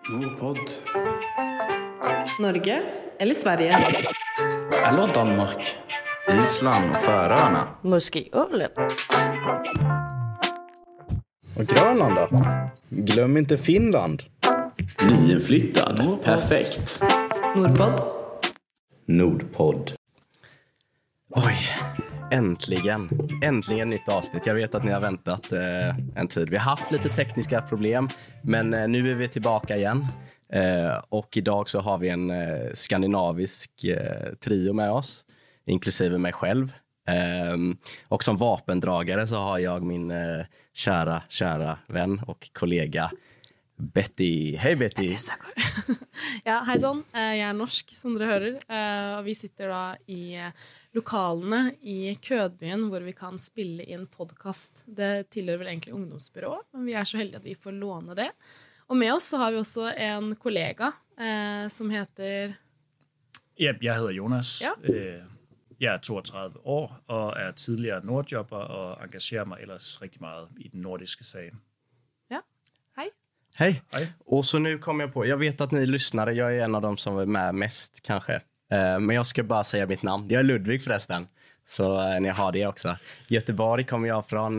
Nordpod. Norge eller Sverige? Eller Danmark. Island och Färöarna. Måske Åland. Och Grönland då? Glöm inte Finland. Nyinflyttad. Nordpod. Perfekt. Nordpod. Nordpod. Oj, äntligen nytt avsnitt. Jag vet att ni har väntat en tid. Vi har haft lite tekniska problem, men nu är vi tillbaka igen. Och idag så har vi en skandinavisk trio med oss, inklusive mig själv. Och som vapendragare så har jag min kära vän och kollega Betty. Hej Betty! Ja, hei sånn. Jeg er norsk, som dere hører. Og vi sitter da i lokalene i Kødbyen, hvor vi kan spille inn podcast. Det tilhører vel egentlig ungdomsbyrået, men vi er så heldige at vi får låne det. Og med oss så har vi også en kollega som heter... Ja, jeg hedder Jonas. Ja. Jeg er 32 år og er tidligere nordjobber og engagerer mig ellers rigtig meget i den nordiske sag. Ja, hej. Hej! Hej. Och så nu kom jag på, jag vet att ni lyssnare, jag är en av dem som är med mest kanske. Men jag ska bara säga mitt namn. Jag är Ludvig förresten. Så ni har det också. Göteborg kommer jag från,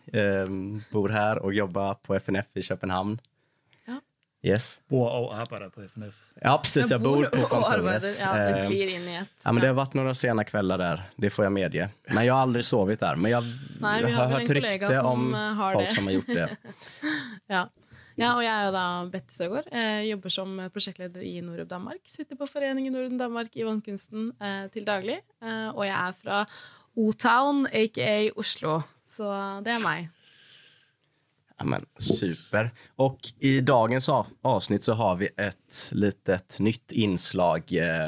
bor här och jobbar på FNF i Köpenhamn. Ja. Yes. Bor og arbejder på FNF. Ja, precis. Jag bor på och kontoret. arbetar. Ja, det blir in i ett. Ja, men det har varit några sena kvällar där. Det får jag medge. Men jag har aldrig sovit där. Men jag Nej, vi har har väl hört en kollega rykte som om har folk det. som har gjort det. Ja. Ja, og jeg er da Betty Søgaard. Jeg jobber som prosjektleder i Nordub Danmark. Sitter på Foreningen Nordub Danmark i vannkunsten til daglig. Og jeg er fra O-Town, a.k.a. Oslo. Så det er meg. Ja, men super. Och i dagens avsnitt så har vi ett litet nytt inslag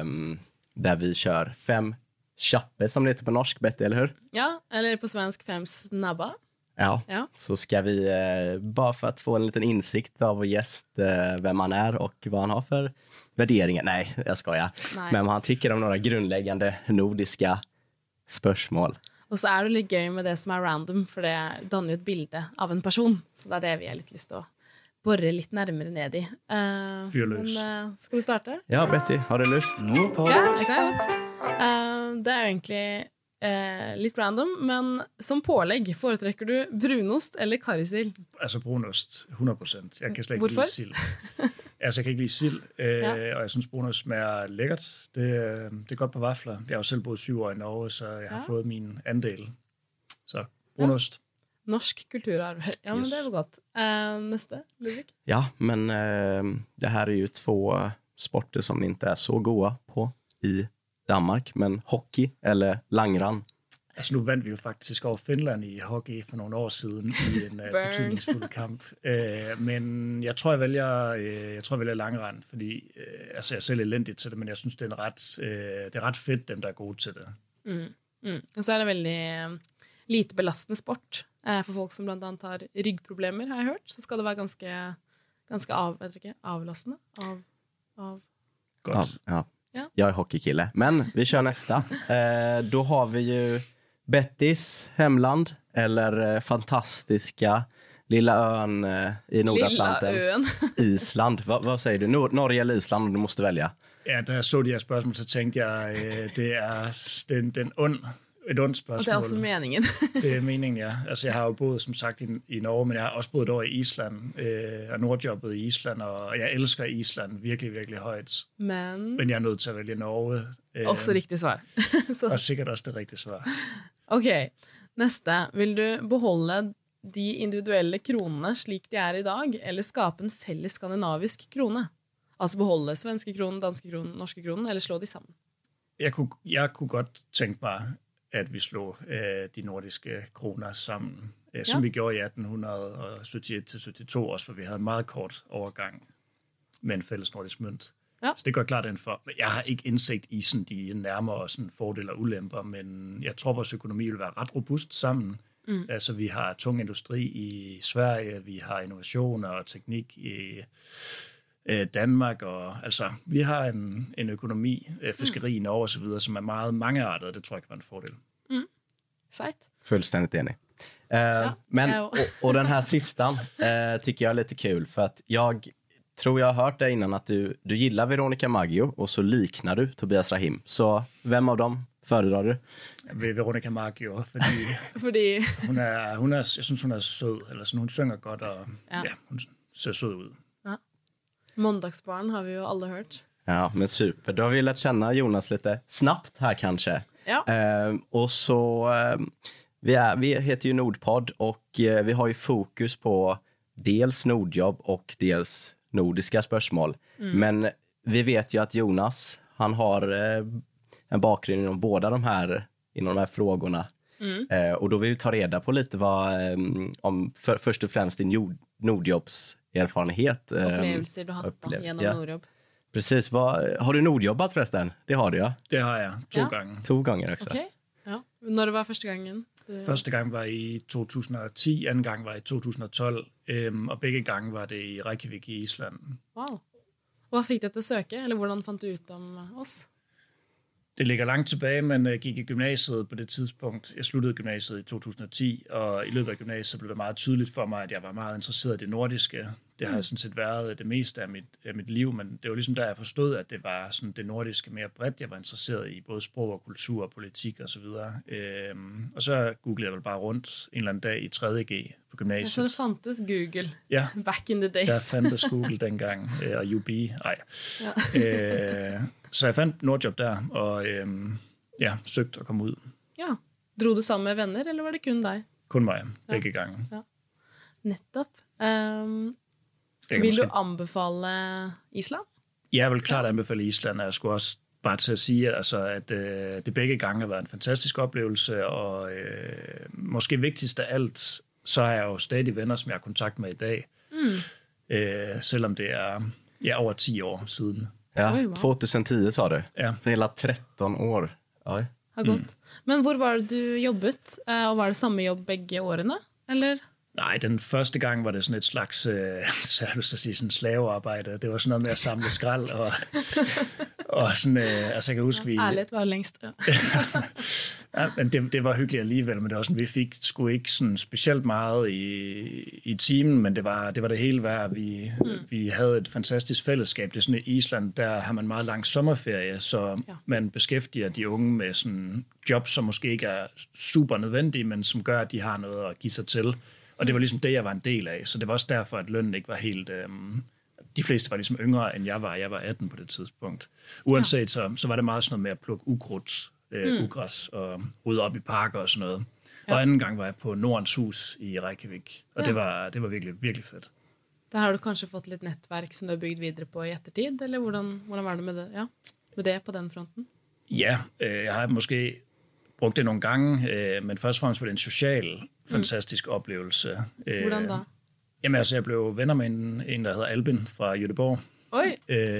där vi kör 5 chappe som det heter på norsk, Betty, eller hur? Ja, eller på svensk 5 snabba. Ja. Ja. Så ska vi bara för att få en liten insikt av vår gäst vem han är och vad han har för värderingar. Nej, jag skojar. Nej. Men vad han tycker om några grundläggande nordiska spörsmål. Og så er det litt gøy med det som er random, for det danner jo et bilde av en person. Så det er det vi har litt lyst til å borre litt nærmere ned i. Fyr løs. Men skal vi starte? Ja, Betty, har du lust? Nordpod. Ja, det kan jeg godt. Det er jo egentlig litt random, men som pålegg foretrekker du brunost eller karrysild? Altså brunost, 100%. Jeg kan slet ikke Hvorfor? lide sild. Altså, jeg kan ikke lide sild, og jeg synes, brunost smager lækkert. Det er godt på vafler. Jeg har jo selv boet 7 år i Norge, så jeg har fået min andel. Så brunost. Norsk kulturarv. Ja, men Yes. det er jo godt. Neste, Ludvig? Ja, men det här är ju 2 sporter som inte är så goda på i Danmark. Men hockey eller langran. Altså, nu vandt vi jo faktisk over Finland i hockey for nogle år siden i en betydningsfuld kamp. Men jeg tror, jeg vælger langrend, fordi altså, jeg er selv elendig til det, men jeg synes, det er ret fedt, dem der er gode til det. Og så er det veldig lite belastende sport for folk som blant annet har ryggproblemer, har jeg hørt. Så skal det være ganske avlastende. Godt. Ja. Ja. Jag är hockeykille. Men vi kör nästa. Då har vi ju Bettys hemland eller fantastiska lilla ön i Nordatlanten. Lilla øen. Island. Vad säger du? Norge eller Island om du måste välja? Ja, da jeg så de her spørgsmål, så tænkte jeg, det er et ondt Og spørgsmål. det er også meningen. Det er meningen, ja. Altså, jeg har jo boet, som sagt, i Norge, men jeg har også boet et år i Island, og nordjobbet i Island, og jeg elsker Island virkelig, virkelig højt. Men jeg er nødt til at vælge Norge. Også riktig svar. Så, Og sikkert også det rigtige svar. ok, neste. Vil du beholde de individuelle kronene slik de er i dag, eller skape en felles skandinavisk krone? Altså beholde svenske kronen, danske kronen, norske kronen, eller slå de sammen? Jeg kunne godt tænke mig, at vi slog de nordiske kroner sammen, som vi gjorde i 1871-72 også, for vi havde en meget kort overgang med en fælles nordisk mønt. Ja. Så det går klart ind for. Jeg har ikke indsigt i sådan de nærmere sådan fordele og ulemper, men jeg tror, vores økonomi vil være ret robust sammen. Altså, vi har tung industri i Sverige, vi har innovationer og teknik i Danmark, og altså, vi har en økonomi, fiskeri i Norge og så videre, som er meget mangeartet, og det tror jeg kan være en fordel. Sejt. Fullständigt enig. Men, och den här sistan tycker jag är lite kul för att jag tror jag har hört det innan att du gillar Veronica Maggio och så liknar du Tobias Rahim. Så vem av dem föredrar du? Veronica Maggio, Fordi jag syns hon är söd, eller så hon sjunger gott och hon ser söd ut. Ja. Måndagsbarn har vi ju alla hört. Ja, men super. Då har vi lärt känna Jonas lite snabbt här kanske. Ja. Och så vi heter ju Nordpodd och vi har ju fokus på dels Nordjobb och dels nordiska spörsmål. Men vi vet ju att Jonas, han har en bakgrund inom båda de här frågorna. Och då vill vi ta reda på lite vad om först och främst din Nordjobbserfarenhet. Upplevelser du har haft genom Nordjobb. Precis. Har du Nordjobbat förresten? Det har du, ja. Det har jag. 2 gånger. 2 gånger också. Okej. Ja. När det var första gången? Första gången var i 2010, andra gången var i 2012. Och bägge gånger var det i Reykjavik i Island. Wow. Vad fick dig att söka? Eller hur fann du ut om oss? Det ligger långt tillbaka, men jag gick i gymnasiet på det tidspunkt. Jag slutade gymnasiet i 2010, och i løbet av gymnasiet blev det meget tydeligt for mig, at jeg var meget interesseret i det nordiske. Det har sådan set været det meste af mit liv, men det var ligesom der, jeg forstod, at det var sådan det nordiske mere bredt. Jeg var interesseret i både sprog og kultur og politik og så videre. Og så googlede jeg vel bare rundt en eller anden dag i 3.G på gymnasiet. Så det fandtes Google back in the days. Der fandtes Google dengang, og UB. Så jeg fandt Nordjob der, og søgte at komme ud. Ja. Drog du sammen med venner, eller var det kun dig? Kun mig, begge gange. Ja. Nettopp. Vil du anbefale Island? Jeg vil klart anbefale Island, og jeg skulle også bare til at sige, altså, at det begge gange har været en fantastisk oplevelse, og måske vigtigst af alt, så har jeg jo stadig venner, som jeg har kontakt med i dag, selvom det er over 10 år siden. Ja, Oj, wow. 2010 sa du. Ja. Så hela 13 år. Oj. Har gått. Men hvor var det du jobbet? Og var det samme jobb begge årene? Eller? Nej, den første gang var det sådan et slags sådan slavearbejde. Det var sådan noget med at samle skrald og sådan, altså jeg kan huske vi. Ærligt var det længst. Ja. Ja, men det var hyggeligt alligevel, men det var sådan, vi fik sgu ikke sådan specielt meget i timen, men det var det hele værd. Vi havde et fantastisk fællesskab. Det er sådan i Island, der har man meget lang sommerferie, så man beskæftiger de unge med sådan jobs, som måske ikke er super nødvendige, men som gør, at de har noget at give sig til. Og det var ligesom det, jeg var en del af, så det var også derfor, at lønnen ikke var helt. De fleste var ligesom yngre, end jeg var. Jeg var 18 på det tidspunkt. Uanset så var det meget sådan noget med at plukke ukrudt, ugræs og rydde op i parker og sådan noget. Ja. Og anden gang var jeg på Nordens Hus i Reykjavik, og det var virkelig, virkelig fedt. Der har du kanskje fått lidt netværk, som du har bygget videre på i ettertid, eller hvordan var det med det? Ja, med det på den fronten? Ja, jeg har måske brugt det nogle gange, men først og fremmest var det en social, fantastisk oplevelse. Hvordan da? Jamen altså, jeg blev venner med en der hedder Albin fra Göteborg. Oj,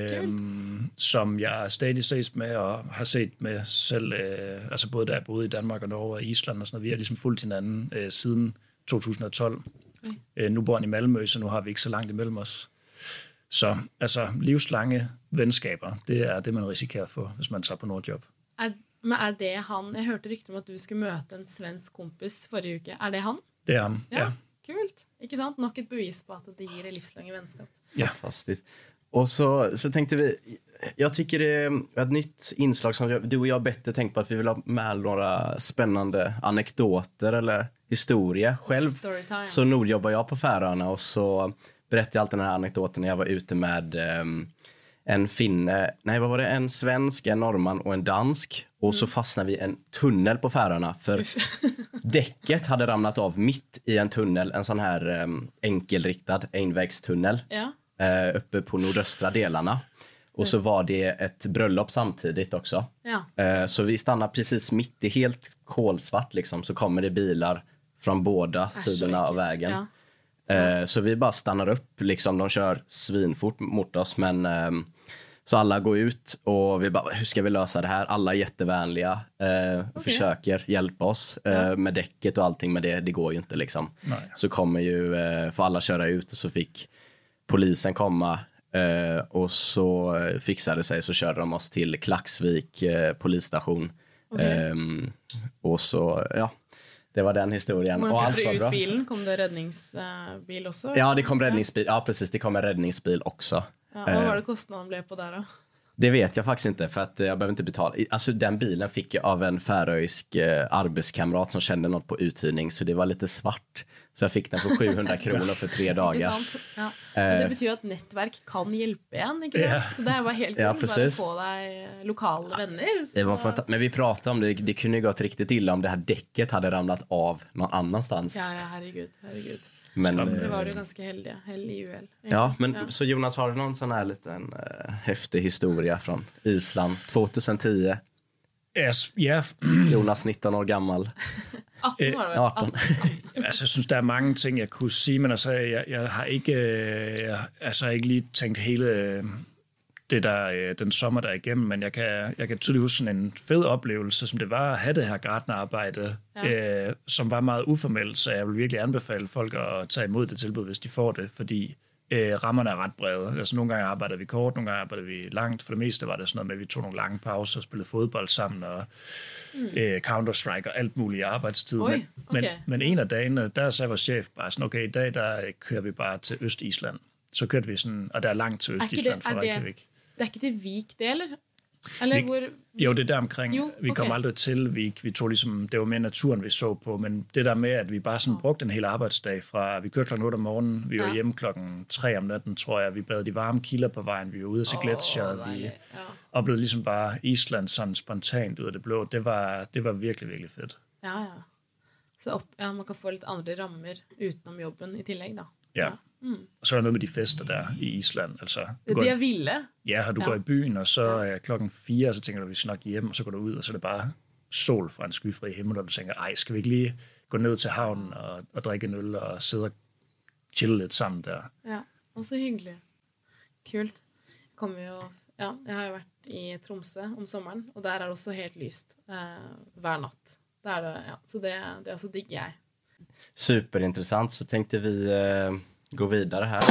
som jeg stadig ses med og har set med selv, altså både da jeg boede i Danmark og Norge og Island og sådan noget. Vi har ligesom fulgt hinanden siden 2012. Nu bor han i Malmø, så nu har vi ikke så langt imellem os. Så altså livslange venskaber, det er det, man risikerer at få, hvis man tager på Nordjob. Men er det han? Jeg hørte rykter om at du skulle møte en svensk kompis forrige uke. Er det han? Det er han, ja. Kult. Ikke sant? Nok et bevis på at det gir livslange vänskap. Ja. Fantastiskt. Och så tänkte vi, jag tycker det är ett nytt inslag som du och jag bättre tänkt på, att vi vill ha med några spännande anekdoter eller historia. Själv så nordjobbar jag på Färöarna och så berättade jag alltid den här anekdoten när jag var ute med en finne, en svensk, en norrman och en dansk. Och så fastnade vi i en tunnel på Färöarna för däcket hade ramlat av mitt i en tunnel, en sån här enkelriktad envägstunnel. Ja. Uppe på nordöstra delarna. Och så var det ett bröllop samtidigt också. Ja. Så vi stannar precis mitt, det är helt kolsvart liksom. Så kommer det bilar från båda sidorna av vägen. Ja. Så vi bara stannar upp liksom, de kör svinfort mot oss. Men så alla går ut och vi bara, hur ska vi lösa det här? Alla är jättevänliga och försöker hjälpa oss med däcket och allting. Men det går ju inte liksom. Nej. Så kommer ju, för alla köra ut och så fick polisen komma och så fixade det sig, så körde de oss till Klaxvik polisstation. Och så Det var den historien. Hvordan Och allt fikk var du bra. ut bilen? Kom det räddningsbil också? Ja, det kom räddningsbil. Ja, precis. Det kom en räddningsbil också. Ja, vad var det kostnaden blev på där då? Det vet jag faktiskt inte, för att jag behöver inte betala. Alltså den bilen fick jag av en färöisk arbetskamrat som kände något på uthyrning, så det var lite svart. Så jag fick den för 700 kronor för 3 dagar. Ikke sant? Ja. Men det betyr jo at nettverk kan hjelpe igjen, ikke sant? Ja. Så det var helt Ja, kult bare precis. å få deg lokale venner. Det var Så... men vi pratade om det, det kunde ju gått riktigt illa om det här däcket hade ramlat av någon annanstans. Ja, herregud. Men, Det var du ganska heldig i UL. ja, men så Jonas, har du någon sån här liten häftig historia från Island 2010? Ja, Jonas 19 år gammal. 18 var det vel? 18. altså jeg synes, der er mange ting, jeg kunne sige, men altså, jeg har ikke lige tænkt hele det der, den sommer, der er igennem, men jeg kan tydeligt huske sådan en fed oplevelse, som det var at have det her gartnerarbejde, som var meget uformelt, så jeg vil virkelig anbefale folk at tage imod det tilbud, hvis de får det, fordi rammerne er ret brede. Altså nogle gange arbejder vi kort, nogle gange arbejder vi langt. For det meste var det sådan noget med, at vi tog nogle lange pauser og spillede fodbold sammen og Counter-Strike og alt muligt i arbejdstid. Oj, okay. Men en af dagene, der sagde vores chef bare sådan, okay, i dag der kører vi bare til Øst-Island. Så kørte vi sådan, og der er langt til Øst-Island fra Reykjavik. Det er ikke det Vik, det, eller? Eller hvor... Jo, det er der omkring. Jo, Vi kom okay. aldrig til Vik. Vi tog ligesom, det var mere naturen, vi så på, men det der med, at vi bare sådan brugte en hel arbejdsdag fra, vi kørte klokken 8 om morgenen, vi var hjemme klokken 3 om natten, tror jeg. Vi badede de varme kilder på vejen, vi var ude at se gletsjere, vi oplevede ligesom bare Island sådan spontant ud af det blå. Det var virkelig, virkelig fedt. Ja. Så man kan få lidt andre rammer utenom jobben i tillegg, da. Ja. Og så er der noget med de fester der i Island. Altså, Det er vilde. Ja, og du går i byen, og så er klokken 4, og så tænker du, vi skal nok hjem, og så går du ud, og så er det bare sol fra en skyfri himmel, og du tænker, ej, skal vi ikke lige gå ned til havnen og drikke en øl og sidde og chille lidt sammen der? Ja, og så hyggelig. Kult. Jeg har jo vært i Tromsø om sommeren, og der er det også helt lyst hver natt. Der er det, så det også digger jeg. Superintressant, så tänkte vi gå vidare här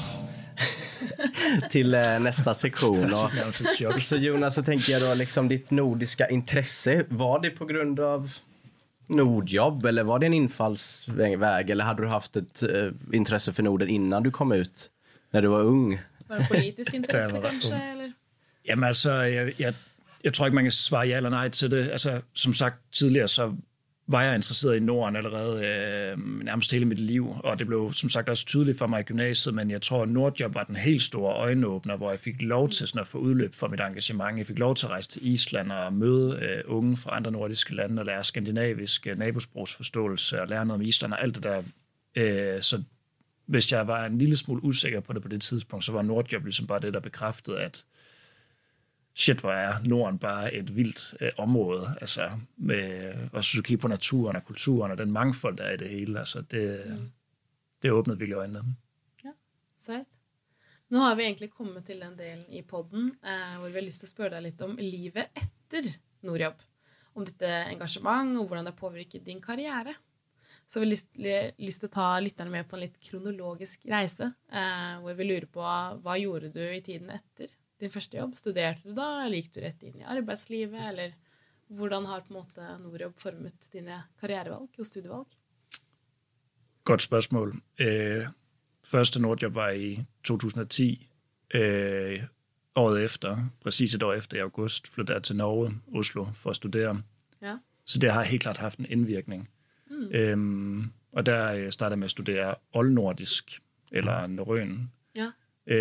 till nästa sektion. Och, så Jonas, så tänker jag då liksom ditt nordiska intresse, var det på grund av Nordjobb eller var det en infallsväg eller hade du haft ett intresse för Norden innan du kom ut när du var ung? Var det politisk intresse kanskje, eller? Jamen altså, jeg tror ikke, man kan svare ja eller nej til det. Altså, som sagt tidligere, så var jeg interesseret i Norden allerede nærmest hele mit liv, og det blev som sagt også tydeligt for mig i gymnasiet, men jeg tror, at Nordjob var den helt store øjenåbner, hvor jeg fik lov til sådan at få udløb for mit engagement. Jeg fik lov til at rejse til Island og møde unge fra andre nordiske lande og lære skandinavisk nabosprogsforståelse og lære noget om Island og alt det der. Så hvis jeg var en lille smule usikker på det på det tidspunkt, så var Nordjob ligesom bare det, der bekræftede, at shit, hvor er Norden bare et vildt område, altså med, og så kigge på naturen og kulturen og den mangfold, der er i det hele, altså det åbnede virkelig øjnene. Ja, sejt. Nu har vi egentlig kommet til den del i podden, hvor vi har lyst til at spørge dig lidt om livet efter Nordjob, om dette engagement og hvordan det påvirker din karriere. Så vi har lyst til at ta lytterne med på en lidt kronologisk rejse, hvor vi lurer på, hvad gjorde du i tiden efter din første jobb? Studerte du da, eller gikk du rett inn i arbeidslivet, eller hvordan har på en måte Nordjob formet dine karrierevalg og studievalg? Godt spørgsmål. Første Nordjob var i 2010. Året efter, præcis et år efter i august, flyttede jeg til Norge, Oslo, for at studere. Ja. Så det har helt klart haft en indvirkning. Og der startede jeg med at studere oldnordisk, eller norrøn. Ja.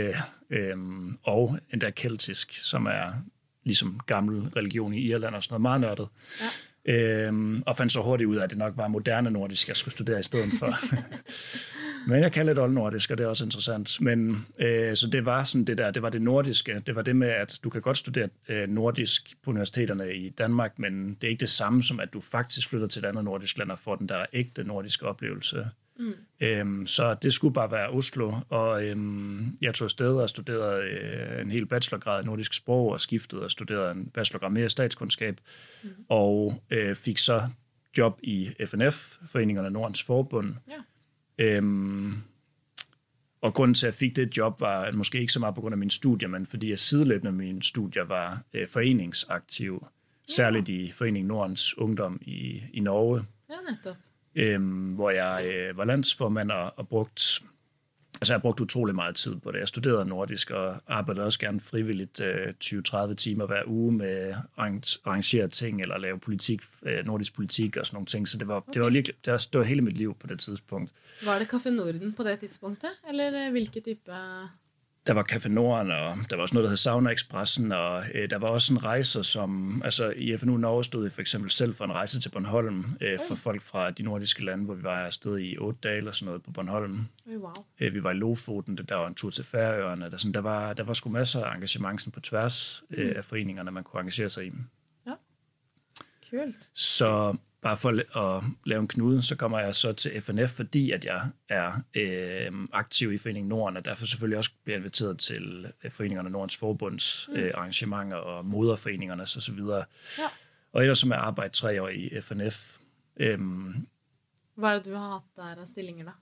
Og endda keltisk, som er ligesom gammel religion i Irland og sådan noget meget nørdet. Ja. Og fandt så hurtigt ud af, at det nok var moderne nordisk, jeg skulle studere i stedet for. Men jeg kalder det oldnordisk, og det er også interessant. Men så det var sådan det der, det var det nordiske. Det var det med, at du kan godt studere nordisk på universiteterne i Danmark, men det er ikke det samme som, at du faktisk flytter til et andet nordisk land og får den der ægte nordiske oplevelse. Så det skulle bare være Oslo, og jeg tog afsted og studerede en hel bachelorgrad i nordisk sprog, og skiftede og studerede en bachelorgrad mere statskundskab, og fik så job i FNF, Foreningerne af Nordens Forbund. Ja. Og grunden til, at jeg fik det job, var måske ikke så meget på grund af mine studier, men fordi jeg sideløbende med mine studier var foreningsaktiv, særligt i Foreningen Nordens Ungdom i Norge. Ja, netop. hvor jeg var landsformand og brugt... Altså, jeg har brugt utrolig meget tid på det. Jeg studerede nordisk og arbejdede også gerne frivilligt 20-30 timer hver uge med at arrangere ting eller lave politik, nordisk politik og sådan nogle ting. Så det var hele mit liv på det tidspunkt. Var det Café Norden på det tidspunktet? Eller hvilke type... Der var Café Norden, og der var også noget, der hed Sauna Expressen, og der var også en rejse, som... Altså, i FNU Norge stod jeg for eksempel selv for en rejse til Bornholm for folk fra de nordiske lande, hvor vi var afsted i 8 dage eller sådan noget på Bornholm. Wow. Vi var i Lofoten, der var en tur til Færøerne. Der var sgu masser af engagement på tværs af foreningerne, man kunne engagere sig i. Ja, kult. Så... Bare for at lave en knude, så kommer jeg så til FNF, fordi at jeg er aktiv i Foreningen Norden, og derfor selvfølgelig også bliver inviteret til Foreningerne Nordens Forbunds arrangementer og moderforeningerne og så videre. Ja. Og ellers som jeg arbejder 3 år i FNF. Hvad er det, du har haft der af stillinger da?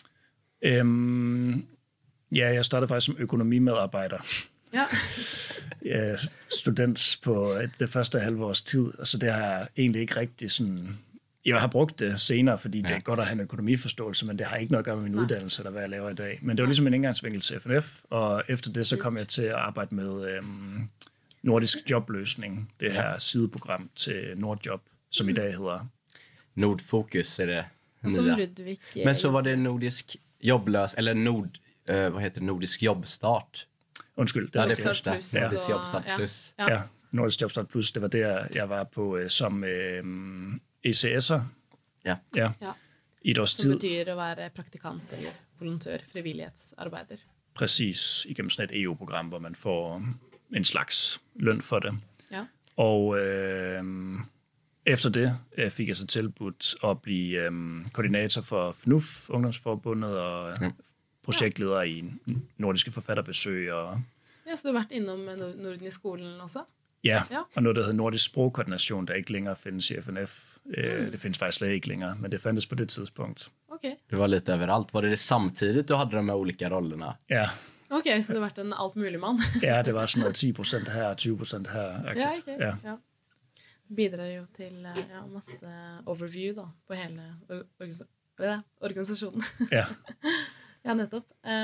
Ja, jeg startede faktisk som økonomimedarbejder. Ja. Jeg student på det første halve års tid, og så det har jeg egentlig ikke rigtig sådan... Jeg har brugt det senere, fordi det er godt at have en økonomiforståelse, men det har ikke noget at gøre med min uddannelse, eller hvad jeg laver i dag. Men det var ligesom en indgangsvinkel til FNF, og efter det så kom jeg til at arbejde med nordisk jobløsning, det her sideprogram til Nordjob, som i dag hedder... Nordfokus är det. Som Ludvig. Men så var det nordisk jobblös, eller nordisk jobbstart. Undskyld. Det var det första. Ja. Nordisk jobbstart plus. Ja, Nordisk Jobbstart Plus, det var der, jeg var på som ECS'er. Ja. I et års tid. Som betyder at være praktikant eller volontør, frivillighetsarbejder. Præcis, igennem sådan et EU-program, hvor man får en slags løn for det. Ja. Og efter det fik jeg så tilbudt at blive koordinator for FNUF, Ungdomsforbundet, og projektleder i nordiske forfatterbesøg. Og Ja, så du har været innom Norden i skolen også? Ja, og noget, der hedder Nordisk Sprogkoordination, der ikke længere findes i FNF. Det findes faktisk slet ikke længere, men det fandtes på det tidspunkt. Okay. Det var lite överallt. Var det samtidigt du hade de här olika rollerna? Ja. Okay, så du har været en altmuligmand? Ja, det var sådan noget 10% her og 20% her. Ja, okay. Ja. Bidrar jo til masse overview da, på hele organisasjonen. Ja. Ja, nettopp.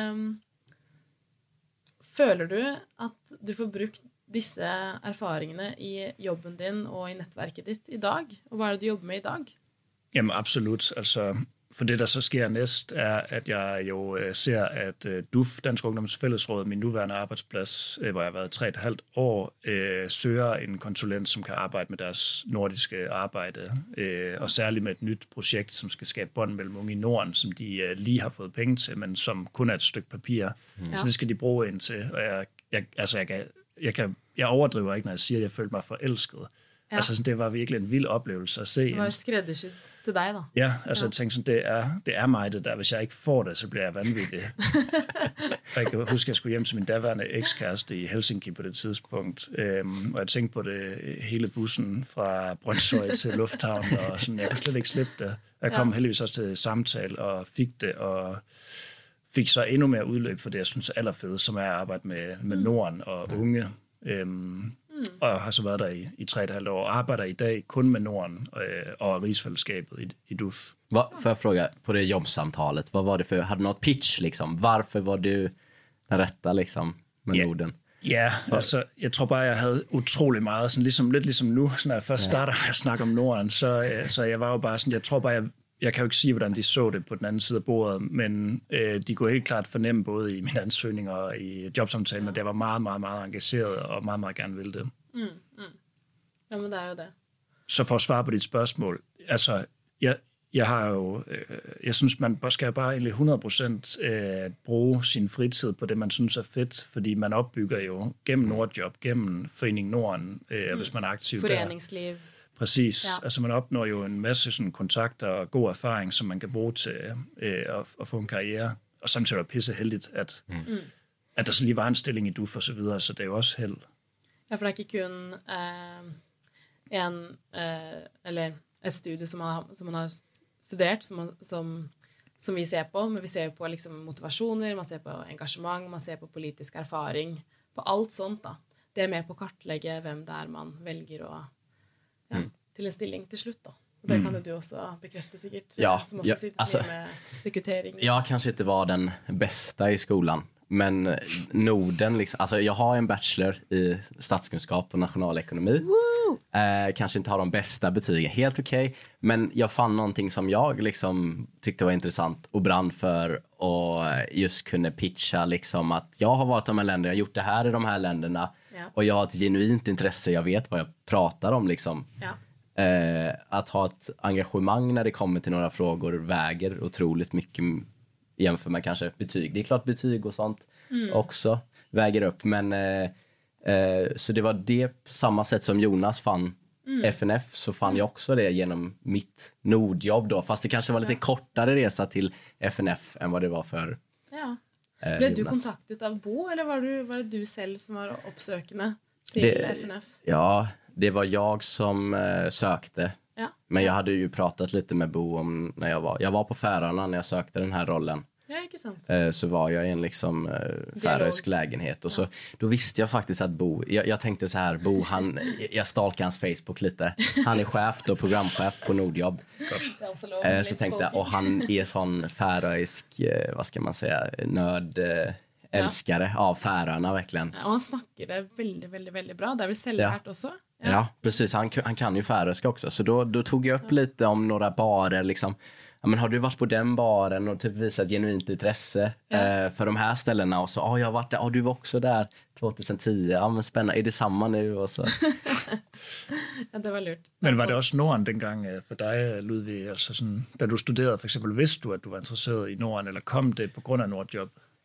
Føler du at du får brukt disse erfaringene i jobben din og i nettverket ditt i dag? Og hvad er det, du jobber med i dag? Jamen absolut. Altså, for det, der så sker næst, er, at jeg jo ser, at DUF, Dansk Ungdoms Fællesråd, min nuværende arbejdsplads, hvor jeg har været 3,5 år, søger en konsulent, som kan arbejde med deres nordiske arbejde, og særligt med et nyt projekt, som skal skabe bånd mellem unge i Norden, som de lige har fået penge til, men som kun er et stykke papir. Så det skal de bruge ind til, og jeg overdriver ikke, når jeg siger, at jeg følte mig forelsket. Ja. Altså, det var virkelig en vild oplevelse at se. Det var skræddersyet til dig, da. Ja, altså jeg tænkte sådan, det er mig det der. Hvis jeg ikke får det, så bliver jeg vanvittig. Jeg kan huske, at jeg skulle hjem til min daværende ekskæreste i Helsinki på det tidspunkt. Og jeg tænkte på det hele bussen fra Brøndshøj til Lufthavn, og sådan, jeg kunne slet ikke slippe det. Jeg kom heldigvis også til samtale og fik det, og fik så endnu mere udløb for det, jeg synes er allerfedest, som er at arbejde med Norden og unge. Og har så været der i 3,5 år, og arbejder i dag kun med Norden og rigsfællesskabet i DUF. Får jag fråga, på det jobbsamtalet, vad var det för, hade du något pitch liksom? Varför var du den rätta liksom med Norden? Ja, altså, jeg tror bare, jeg havde utrolig meget, sådan lidt ligesom nu, når jeg først starter at snakke om Norden, så jeg var jo bare sådan, jeg tror bare, jeg kan jo ikke sige, hvordan de så det på den anden side af bordet, men de kunne helt klart fornemme både i mine ansøgninger og i jobsamtalen, at jeg var meget, meget, meget engageret og meget, meget gerne ville det. Ja, men det er jo det. Så for at svare på dit spørgsmål, altså, jeg har jo, jeg synes, man skal bare egentlig 100% bruge sin fritid på det, man synes er fedt, fordi man opbygger jo gennem Nordjob, gennem Foreningen Norden, hvis man er aktiv der. Foreningsliv. Præcis. Ja. Altså man opnår jo en masse sådan kontakter og god erfaring, som man kan bruge til at få en karriere. Og samtidig er det pisse heldigt, at der så lige var en stilling i DUF og så videre, så det er jo også held. Ja, for det er ikke kun eller et studie, som man har studeret, som vi ser på, men vi ser på liksom motivasjoner, man ser på engasjement, man ser på politisk erfaring, på alt sånt da. Det er med på å kartlegge hvem det er man velger å til en stilling til slutt da. Och det kan du också bekräfta säkert. Ja, som också sitter med rekrytering. Jag kanske inte var den bästa i skolan. Men Norden, liksom, alltså jag har en bachelor i statskunskap och nationalekonomi. Kanske inte har de bästa betygen, helt okej. Men jag fann någonting som jag liksom tyckte var intressant och brann för. Och just kunde pitcha liksom att jag har varit i de här länderna, jag har gjort det här i de här länderna. Ja. Och jag har ett genuint intresse, jag vet vad jag pratar om liksom. Ja. Att ha ett engagemang när det kommer till några frågor väger otroligt mycket jämför med kanske betyg. Det är klart betyg och sånt också väger upp. Men så det var det på samma sätt som Jonas fann FNF, så fann jag också det genom mitt nordjobb då. Fast det kanske var lite kortare resa till FNF än vad det var för Blev du kontaktad av Bo eller var det du själv som var uppsökande till FNF? Ja, det var jag som sökte. Ja. Men jag hade ju pratat lite med Bo om när jag var på Färöarna när jag sökte den här rollen. Ja, inte sant. Så var jag i en liksom färöisk lägenhet. Och så, då visste jag faktiskt att Bo, jag tänkte så här, Bo, jag stalkade hans Facebook lite. Han är chef då, programchef på Nordjobb. Så tänkte jag, och han är sån färöisk, vad ska man säga, älskare av Färöarna verkligen. Ja, och han snackar det väldigt, väldigt, väldigt bra. Det är väl säljvärt också. Ja, precis. Han kan ju färöiska också. Så då tog jag upp lite om några barer liksom. Ja, men har du varit på den baren och typ visat genuint intresse för de här ställena? Och så, jag har varit där. Du var också där 2010. Ja, men spännande. Är det samma nu? Och så. Ja, det var lurt. Men var det också Norden dengang för dig, Ludvig? Altså sådan, da du studerede for eksempel, vidste du, at du var interesseret i Norden, eller kom det på grund av Nordjobb?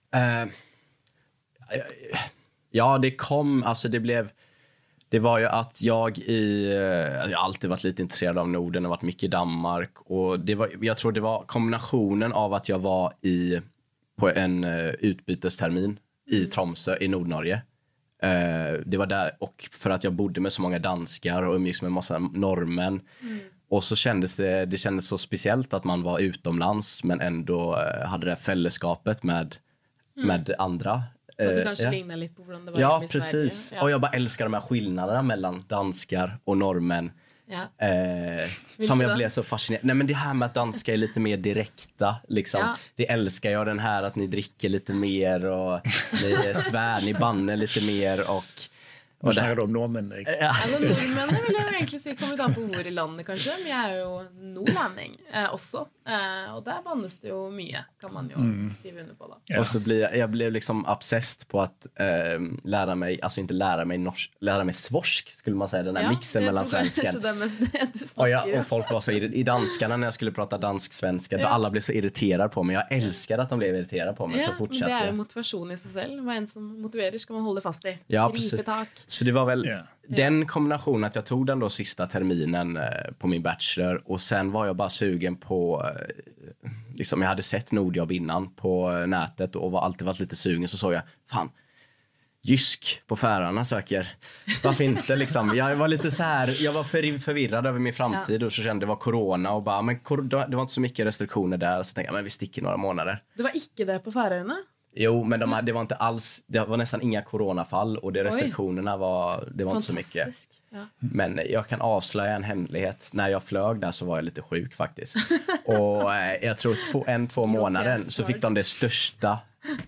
Ja, det kom, alltså det var ju att jag har alltid varit lite intresserad av Norden och varit mycket i Danmark. Och jag tror det var kombinationen av att jag var på en utbytestermin i Tromsø i Nordnorge. Det var där, och för att jag bodde med så många danskar och umgicks med en massa norrmän. Och så kändes det kändes så speciellt att man var utomlands men ändå hade det fällskapet med andra. Och du kanske lignar lite på hur det var i Sverige. Precis. Ja. Och jag bara älskar de här skillnaderna mellan danskar och norrmän. Ja. Som jag blev så fascinerad. Nej, men det här med att danska är lite mer direkta liksom. Ja. Det älskar jag, den här att ni dricker lite mer och ni svär, ni banner lite mer och Nå snakker du om nordmenn, ikke? Ja. Altså, nordmennene vil jeg jo egentlig si kommer an på hvor i landet, kanskje. Men jeg er jo nordlending også. Og der bannes det jo mye, kan man jo skrive under på da. Ja. Och så jag blev liksom obsessed på att lära mig, alltså inte lära mig svorsk, skulle man säga, den här mixen mellan svenskan. Och folk var så i danskarna när jag skulle prata dansk-svenska, då alla blev så irriterade på mig. Jag älskar att de blev irriterade på mig, så fortsatte. Det är ju motivation i sig själv. Vad en som motiverar ska man hålla fast i. Ja, precis. Så det var väl den kombinationen att jag tog den då sista terminen på min bachelor. Och sen var jag bara sugen på, liksom jag hade sett Nordjobb innan på nätet och alltid varit lite sugen. Så såg jag, fan, Jysk på Färöarna söker. Varför inte liksom? Jag var lite så här, jag var förvirrad över min framtid och så kände det var corona och bara, men det var inte så mycket restriktioner där. Så tänkte jag, men vi sticker några månader. Det var icke det på Färöarna? Jo, men det var inte alls, det var nästan inga coronafall och restriktionerna var inte så mycket. Ja. Men jag kan avslöja en hemlighet. När jag flög där så var jag lite sjuk faktiskt. Och jag tror 2 månader så fick de det största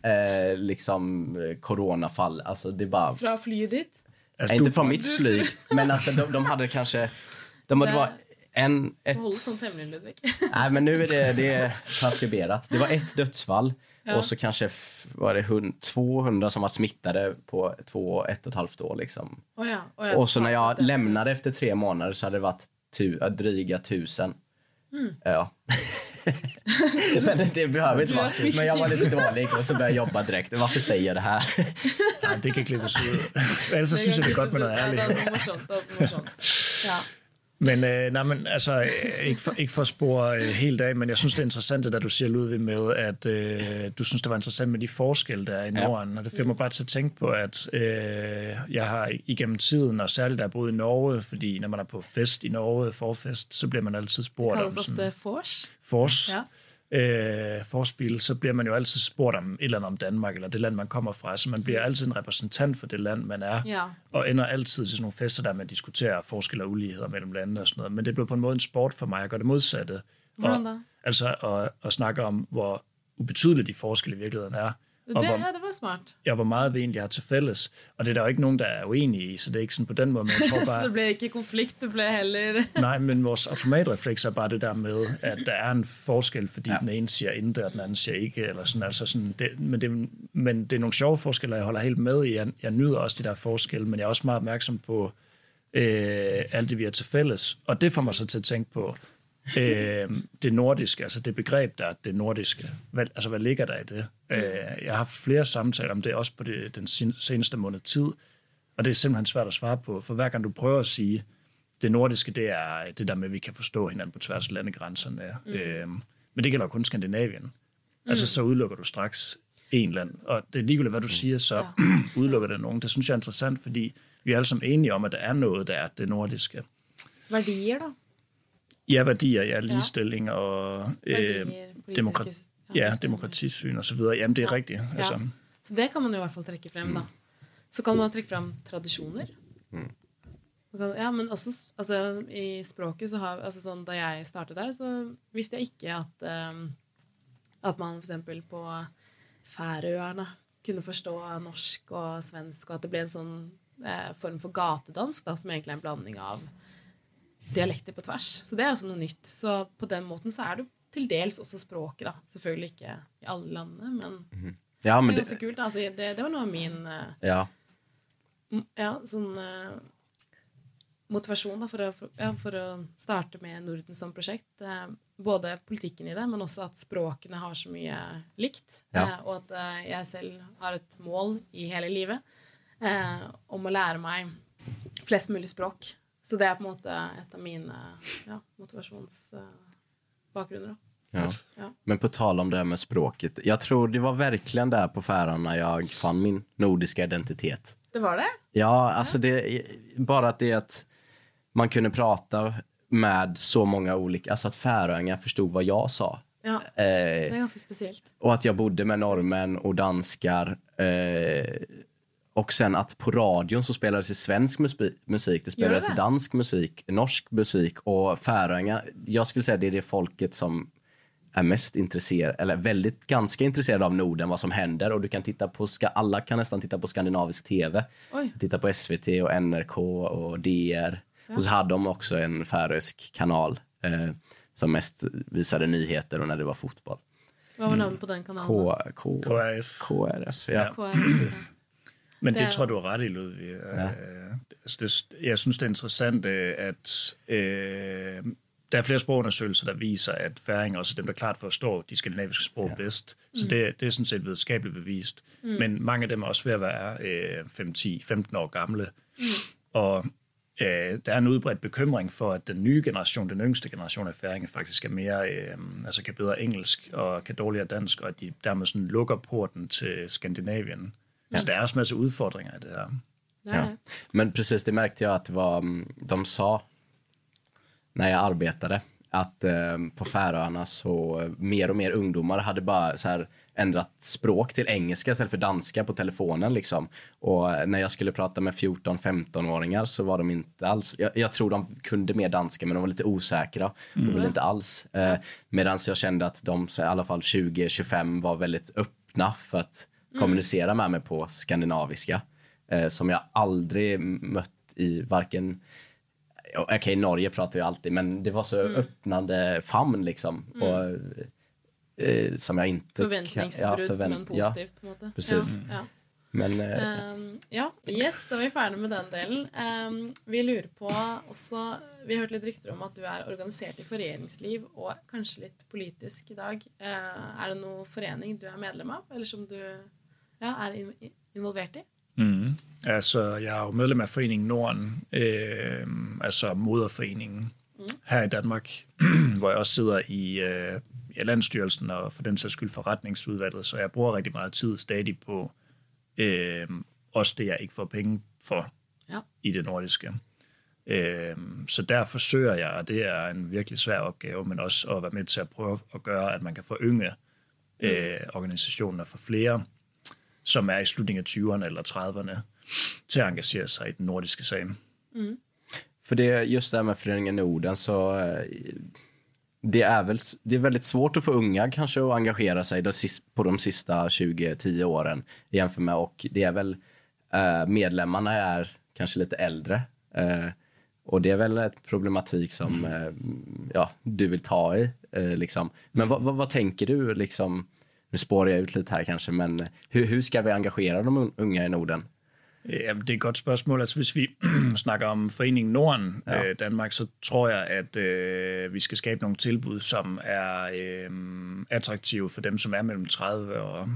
liksom coronafall. Alltså det bara från flyget ditt? Inte från mitt flyg, men alltså de hade kanske det var håll sånt hemligt, Ludvig. Nej, men nu är det transkriberat. Det var 1 dödsfall. Ja. Och så kanske var det 200 som var smittade på 1,5 år liksom. Och så när jag lämnade efter 3 månader så hade det varit dryga 1000. Ja. Men det behöver inte vara. Men jag var lite dålig och så började jag jobba direkt. Varför säger jag det här? Ja, det kan klippes ud. Ellers så synes jeg det er godt med noget ærligt. Det er morsomt. Ja. Men, men altså, ikke for at spore helt af, men jeg synes, det er interessant, det der du siger, Ludvig, med, at du synes, det var interessant med de forskelle, der er i Norden. Og det får mig bare til at tænke på, at jeg har igennem tiden, og særligt da jeg boede i Norge, fordi når man er på fest i Norge, forfest, så bliver man altid spurgt om sådan... Det kaldes ofte fors. Fors. forspil, så bliver man jo altid spurgt om et eller andet om Danmark, eller det land, man kommer fra. Så man bliver altid en repræsentant for det land, man er, og ender altid til sådan nogle fester, der man diskuterer forskel og uligheder mellem lande og sådan noget. Men det blev på en måde en sport for mig at gøre det modsatte. Hvordan da? Altså at snakke om, hvor ubetydelige de forskelle i virkeligheden er. Det var smart. Ja, hvor meget vi egentlig har til fælles. Og det er der jo ikke nogen, der er uenige i, så det er ikke sådan på den måde, men jeg tror bare... Så det bliver ikke konflikt, det bliver heller... Nej, men vores automatrefleks er bare det der med, at der er en forskel, fordi den ene siger intet, og den anden siger ikke, eller sådan. Altså sådan men det er nogle sjove forskelle, jeg holder helt med i. Jeg nyder også de der forskelle, men jeg er også meget opmærksom på alt det, vi har til fælles. Og det får mig så til at tænke på det nordiske, altså det begreb, der er det nordiske. Hvad ligger der i det? Jeg har haft flere samtaler om det, også på den seneste måned tid, og det er simpelthen svært at svare på, for hver gang du prøver at sige, det nordiske, det er det der med, at vi kan forstå hinanden på tværs af landegrænserne. Men det gælder kun Skandinavien. Altså så udelukker du straks en land, og det er ligegyldigt, hvad du siger, så udelukker det nogen. Det synes jeg er interessant, fordi vi er alle sammen enige om, at der er noget, der er det nordiske. Værdier da? Ja, værdier, ligestilling og demokratisyn og så videre. Jamen, det er rigtigt. Altså. Så det kan man jo i hvert fall trekke frem, da. Så kan man trekke frem tradisjoner. Ja, men også altså, i språket så har, altså sånn, da jeg startet der, så visste jeg ikke at man for eksempel på Færøerne kunne forstå norsk og svensk, og at det ble en sånn form for gatedansk, da, som egentlig er en blanding av dialekter på tvers. Så det er også noe nytt. Så på den måten så er det til dels også språket, da. Selvfølgelig ikke i alle landene, men, ja, men det er ganske kult. Altså, det var noe av min sånn motivasjon da, for å starte med Norden som prosjekt. Både politikken i det, men også at språkene har så mye likt, og at jeg selv har et mål i hele livet om å lære meg flest mulig språk. Så det er på en måte et av mine motivationsbakgrunner. Ja. Men på tal om det här med språket, jag tror det var verkligen där på Färöarna jag fann min nordiska identitet. Det var det? Ja, alltså bara att det att man kunde prata med så många olika, alltså att färöingar förstod vad jag sa. Ja, det är ganska speciellt. Och att jag bodde med norrmän och danskar. Och sen att på radion så spelades det svensk musik, det spelades dansk musik, norsk musik och färöingar. Jag skulle säga det är det folket som är mest intresserad, eller ganska intresserad av Norden, vad som händer. Och du kan titta på, alla kan nästan titta på skandinavisk tv. Titta på SVT och NRK och DR. Ja. Och så hade de också en färöisk kanal som mest visade nyheter och när det var fotboll. Vad var namnet på den kanalen? KRF. Ja. KRF. Men det tror du er ret i, Ludvig. Ja. Jeg synes, det er interessant, at der er flere sprogundersøgelser, der viser, at færinger også er dem, der klart forstår de skandinaviske sprog bedst. Så det er sådan set videnskabeligt bevist. Men mange af dem er også ved at være 5-10-15 år gamle. Og der er en udbredt bekymring for, at den nye generation, den yngste generation af færinger, faktisk er mere, altså kan bedre engelsk og kan dårligere dansk, og at de dermed sådan lukker porten til Skandinavien. Så der er også masse udfordringer i det her. Ja. Men precis, det märkte jag att det var, de sa när jag arbetade att på Färöarna så mer och mer ungdomar hade bara så här ändrat språk till engelska istället för danska på telefonen liksom. Och när jag skulle prata med 14-15-åringar så var de inte alls, jag tror de kunde mer danska men de var lite osäkra och ville inte alls. Medan jag kände att de i alla fall 20-25 var väldigt öppna för att kommunicera med mig på skandinaviska. Som jag aldrig mött i varken... Okej, Norge pratar ju alltid, men det var så öppnande famn liksom. Och, som jag inte... Förväntningsbrud, men positivt på något sätt. Precis. Ja. Men, yes, da var vi ferdig med den delen. Vi lurer på også, vi har hørt litt rykter om at du er organisert i foreningsliv og kanskje litt politisk i dag. Er det noen forening du er medlem av, eller som du er involvert i? Altså, jeg er jo medlem af Foreningen Norden, altså moderforeningen her i Danmark, hvor jeg også sidder i Landsstyrelsen og for den sags skyld forretningsudvalget, så jeg bruger rigtig meget tid stadig på også det, jeg ikke får penge for i det nordiske. Så der forsøger jeg, og det er en virkelig svær opgave, men også at være med til at prøve at gøre, at man kan forynge organisationer for flere, som er i slutningen af 20'erne eller 30'erne, til at engagere sig i den nordiske sag. För det just det här med Föreningen Norden, så det är väldigt svårt att få unga kanske att engagera sig på de sista 20-10 åren jämfört med, och det är väl medlemmarna är kanske lite äldre, och det är väl ett problematik som du vill ta i liksom. Men vad tänker du liksom, nu spårar jag ut lite här kanske, men hur ska vi engagera de unga i Norden? Ja, det er et godt spørgsmål. Altså, hvis vi snakker om Foreningen Norden, Danmark, så tror jeg, at vi skal skabe nogle tilbud, som er attraktive for dem, som er mellem 30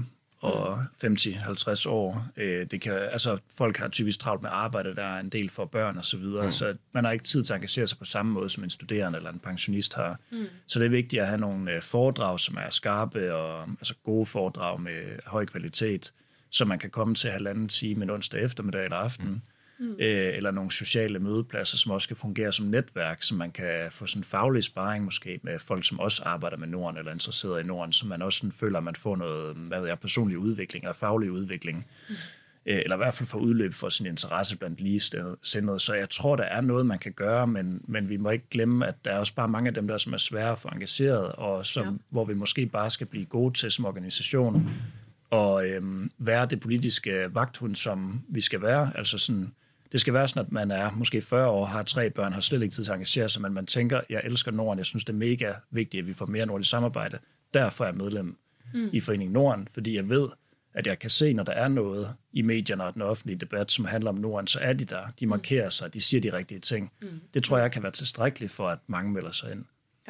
og 50-50 år. Det kan, altså, folk har typisk travlt med arbejde, der er en del for børn og så videre, så man har ikke tid til at engagere sig på samme måde, som en studerende eller en pensionist har. Så det er vigtigt at have nogle foredrag, som er skarpe, og altså gode foredrag med høj kvalitet, så man kan komme til 1,5 time en onsdag eftermiddag eller aften, eller nogle sociale mødepladser, som også kan fungere som netværk, så man kan få sådan faglig sparring måske med folk, som også arbejder med Norden eller er interesseret i Norden, så man også sådan føler, at man får noget personlig udvikling eller faglig udvikling, eller i hvert fald får udløb for sin interesse blandt ligesindede. Så jeg tror, der er noget, man kan gøre, men vi må ikke glemme, at der er også bare mange af dem, der som er svære at få engageret, og hvor vi måske bare skal blive gode til som organisation, og være det politiske vagthund, som vi skal være. Altså sådan, det skal være sådan, at man er måske 40 år, har 3 børn, har slet ikke tid til at engagere sig, men man tænker, jeg elsker Norden, jeg synes, det er mega vigtigt, at vi får mere nordisk samarbejde. Derfor er jeg medlem i Foreningen Norden, fordi jeg ved, at jeg kan se, når der er noget i medierne og den offentlige debat, som handler om Norden, så er de der, de markerer sig, de siger de rigtige ting. Det tror jeg kan være tilstrækkeligt for, at mange melder sig ind.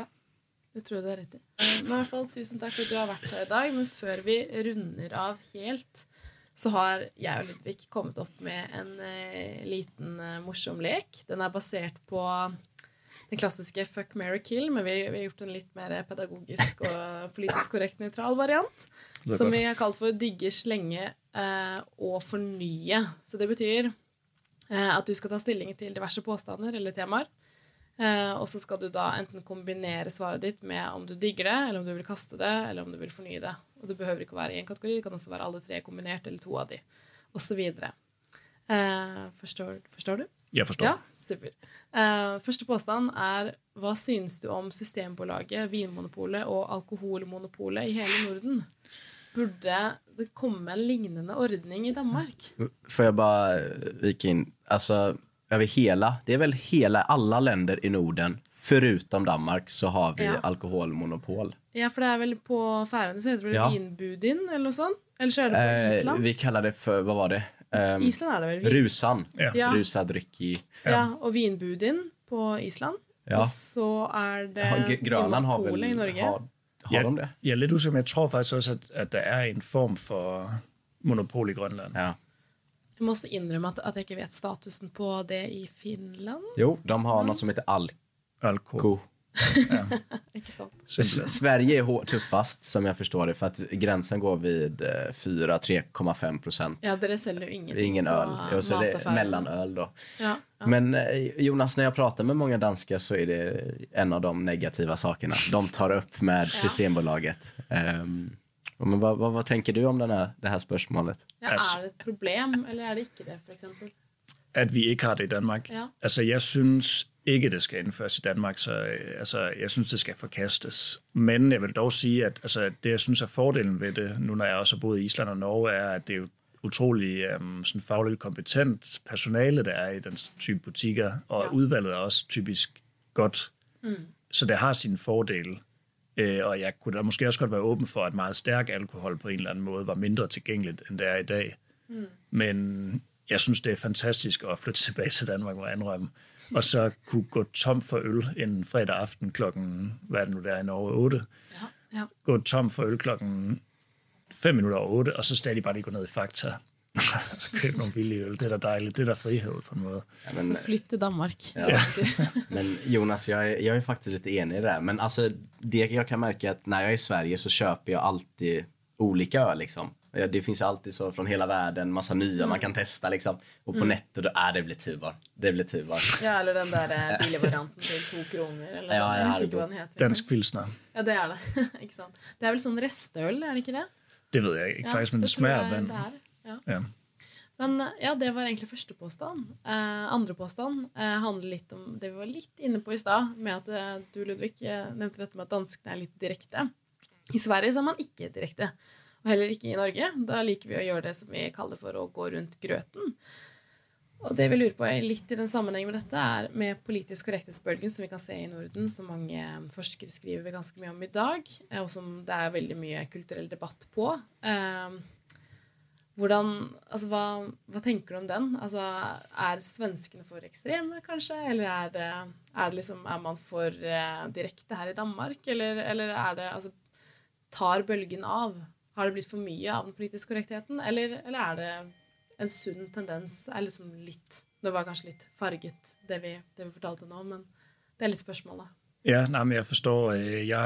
Det tror jeg, du har rett i. Men i hvert fall, tusen takk for at du har vært her i dag. Men før vi runder av helt, så har jeg og Ludvig kommet opp med en liten morsom lek. Den er basert på den klassiske Fuck, Marry, Kill, men vi har gjort en litt mer pedagogisk og politisk korrekt neutral variant, som vi har kalt for digge, slenge og fornye. Så det betyr at du skal ta stilling til diverse påstander eller temaer, og så skal du da enten kombinere svaret ditt med om du digger det, eller om du vil kaste det, eller om du vil fornye det. Og det behøver ikke å være i en kategori, det kan også være alle 3 kombinert, eller 2 av de, og så videre. Forstår du? Jeg forstår. Ja, super. Første påstand er, hva synes du om Systembolaget, Vinmonopolet og Alkoholmonopolet i hele Norden? Burde det komme en lignende ordning i Danmark? Får jag bara vika in, alltså över det är väl alla länder i Norden förutom Danmark så har vi alkoholmonopol. Ja, för det är väl på Färöarna så heter det vinbudin eller något sånt. Eller så är det på Island. Vi kallar det för, vad var det? Island är det väl? Rusan. Ja. Rusad dryck i. Ja, och vinbudin på Island. Ja. Och så är det Grönland har väl i Norge. Har de det? Jeg er lidt usikker, men jeg tror faktisk også, at der er en form for monopol i Grønland. Ja. Jeg må også indrømme at jeg ikke vet statusen på det i Finland. Jo, de har något som heter Alko. Ja. Ikke sant? Sverige är tuffast som jag förstår det, för att gränsen går vid 3,5%. Ja, det säljer ju ingen öl. Jo, så det är mellanöl då. Ja. Men Jonas, när jag pratar med många danskar så är det en av de negativa sakerna de tar upp med Systembolaget. Men vad tänker du om det här spørgsmålet? Ja, er det et problem, eller er det ikke det, for eksempel? At vi ikke har det i Danmark. Ja. Altså, jeg synes ikke, det skal indføres i Danmark, så altså, jeg synes, det skal forkastes. Men jeg vil dog sige, at altså, det, jeg synes er fordelen ved det, nu når jeg også har boet i Island og Norge, er, at det er jo utrolig sådan fagligt kompetent personale, der er i den type butikker, og udvalget er også typisk godt. Så det har sine fordele. Og jeg kunne da måske også godt være åben for, at meget stærk alkohol på en eller anden måde var mindre tilgængeligt, end det er i dag. Men jeg synes, det er fantastisk at flytte tilbage til Danmark, må jeg indrømme. Og så kunne gå tom for øl en fredag aften klokken, hvad er det nu der i Norge, 8? Ja. Gå tom for øl klokken 5 minutter over 8, og så stadig bare lige gå ned i Fakta. Så købe nogle billige øl. Det er da dejligt. Det er da frihed på en måde. Ja, men, så flytt til Danmark. Ja. Men Jonas, jag är faktiskt lite enig i det här. Men alltså, det jag kan märka är att när jag är i Sverige så köper jag alltid olika öl liksom. Ja, det finns alltid så från hela världen, massa nya man kan testa liksom. Och på nettet, det blir tubar. Det blir tubar. Ja, eller den där billigvarianten till 2 kroner. Eller Ja, sånn. ja, Jeg husker ikke hva den heter. Dansk pilsner. Ja, det er det. Ikke sant? Det er vel sånn restøl, er det ikke det? Det ved jeg ikke faktisk, men det tror smager jeg vand. det er. Ja. Ja. Men ja, det var egentlig første påstand. Andre påstand handler litt om det vi var litt inne på i stad, med at du, Ludvig, nevnte dette med at danskene er litt direkte. I Sverige så er man ikke direkte, og heller ikke i Norge. Da liker vi å gjøre det som vi kaller for å gå rundt grøten. Og det vi lurer på litt i den sammenheng med dette er med politisk korrekthetsbølgen som vi kan se i Norden, som mange forskere skriver ganske mye om i dag, og som det er veldig mye kulturell debatt på. Altså, hva tenker du om den? Altså, svenskene for ekstreme, kanskje? Eller er man for direkte her i Danmark? Eller det, altså, tar bølgen av? Har det blitt for mye av den politiske korrektheten? Eller det en sunn tendens? Liksom litt, det var kanskje litt farget, det vi fortalte nå, men det litt spørsmålet. Ja, nej, men jeg forstår.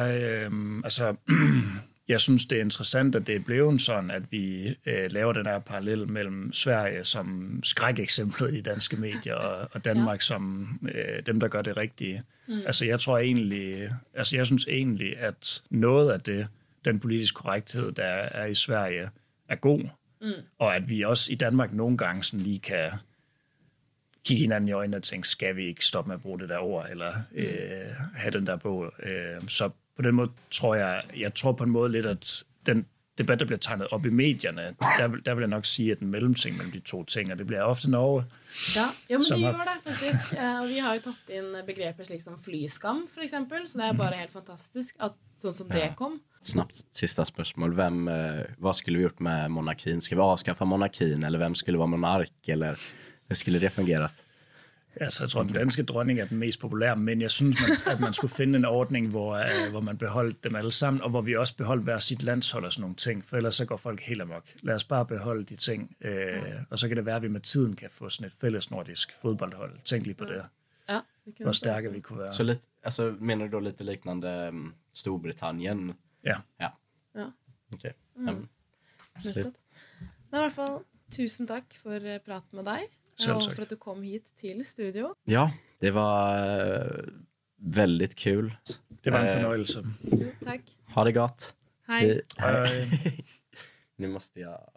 Jeg synes, det interessant, at det er blevet sådan, at vi laver den her parallel mellem Sverige som skrækeksemplet i danske medier, og Danmark som dem, der gør det rigtige. Altså, jeg synes egentlig, at noget af det, den politiske korrekthed, der er i Sverige, er god. Og at vi også i Danmark nogle gange sådan lige kan kigge hinanden i øjnene og tænke, skal vi ikke stoppe med at bruge det der ord, eller have den der bog. Så på den måde tror jeg tror på en måde lidt, at den debat, der bliver tegnet op i medierne, der vil jeg nok sige, at den mellemting mellem de to ting, og det bliver ofte Norge. Ja, men de gjør det faktisk. Og vi har jo tatt inn begreper slik som flyskam, for eksempel, så det bare helt fantastisk at sånn som det kom. Snabbt sista spørgsmål. Vad skulle vi gjort med monarkin? Ska vi avskaffa monarkin, eller vem skulle vara monark, eller hur skulle det fungerat? Altså, jeg tror, den danske dronning er den mest populære, men jeg synes, at man skulle finde en ordning, hvor man beholdt dem alle sammen, og hvor vi også beholdt hver sit landshold og sådan nogle ting, for ellers så går folk helt amok. Lad os bare beholde de ting, og så kan det være, at vi med tiden kan få sådan et fælles nordisk fodboldhold. Tænk lige på det. Ja, hvor stærke vi kunne være. Så lite, alltså, menar du då lite liknande Storbritannien? Ja. Okej. Men i hvert fall, tusen takk for praten med deg. Och för att du kom hit till studio. Ja, det var väldigt kul. Det var en förnöjelse. Tack. Ha det gott. Hej. Hej. Nu måste jag